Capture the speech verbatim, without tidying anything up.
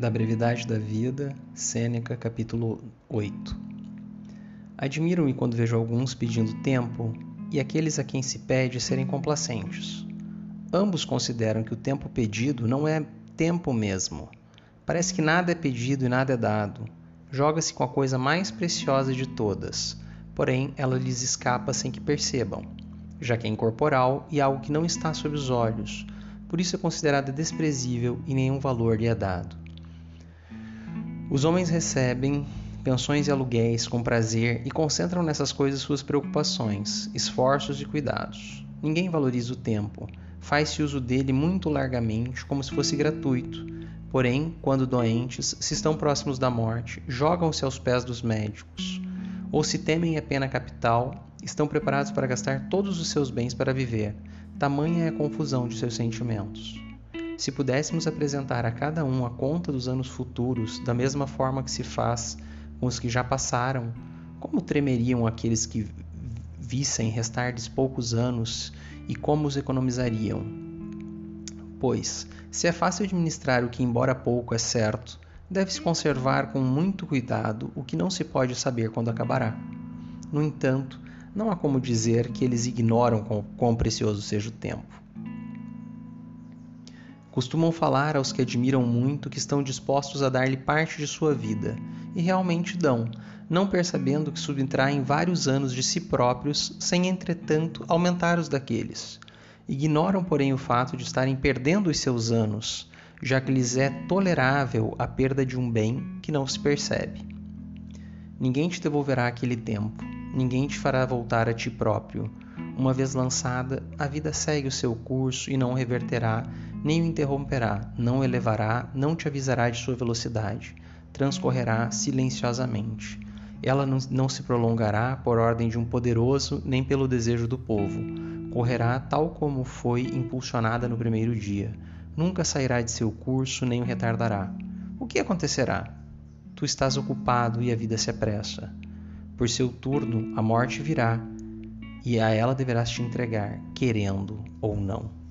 Da brevidade da vida, Sêneca, capítulo oito. Admiro-me quando vejo alguns pedindo tempo e aqueles a quem se pede serem complacentes. Ambos consideram que o tempo pedido não é tempo mesmo. Parece que nada é pedido e nada é dado. Joga-se com a coisa mais preciosa de todas, porém ela lhes escapa sem que percebam, já que é incorporal e algo que não está sob os olhos, por isso é considerada desprezível e nenhum valor lhe é dado. Os homens recebem pensões e aluguéis com prazer e concentram nessas coisas suas preocupações, esforços e cuidados. Ninguém valoriza o tempo, faz-se uso dele muito largamente, como se fosse gratuito. Porém, quando doentes, se estão próximos da morte, jogam-se aos pés dos médicos. Ou se temem a pena capital, estão preparados para gastar todos os seus bens para viver. Tamanha é a confusão de seus sentimentos. Se pudéssemos apresentar a cada um a conta dos anos futuros, da mesma forma que se faz com os que já passaram, como tremeriam aqueles que vissem restar-lhes poucos anos e como os economizariam? Pois, se é fácil administrar o que, embora pouco, é certo, deve-se conservar com muito cuidado o que não se pode saber quando acabará. No entanto, não há como dizer que eles ignoram quão precioso seja o tempo. Costumam falar aos que admiram muito que estão dispostos a dar-lhe parte de sua vida, e realmente dão, não percebendo que subtraem vários anos de si próprios, sem, entretanto, aumentar os daqueles. Ignoram, porém, o fato de estarem perdendo os seus anos, já que lhes é tolerável a perda de um bem que não se percebe. Ninguém te devolverá aquele tempo, ninguém te fará voltar a ti próprio. Uma vez lançada, a vida segue o seu curso e não o reverterá, nem o interromperá, não o elevará, não te avisará de sua velocidade. Transcorrerá silenciosamente. Ela não, não se prolongará por ordem de um poderoso, nem pelo desejo do povo. Correrá tal como foi impulsionada no primeiro dia. Nunca sairá de seu curso, nem o retardará. O que acontecerá? Tu estás ocupado e a vida se apressa. Por seu turno, a morte virá, e a ela deverás te entregar, querendo ou não.